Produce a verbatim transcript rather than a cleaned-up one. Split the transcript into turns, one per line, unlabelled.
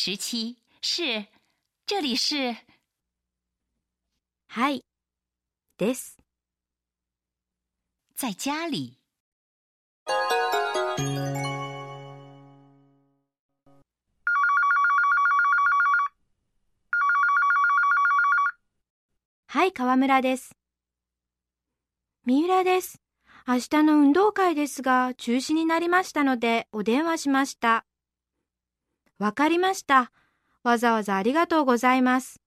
十七，是，这里是。
はい、です。
在家里。
はい、川村です。三浦です。明日の運動会ですが中止になりましたのでお電話しました。わかりました。わざわざありがとうございます。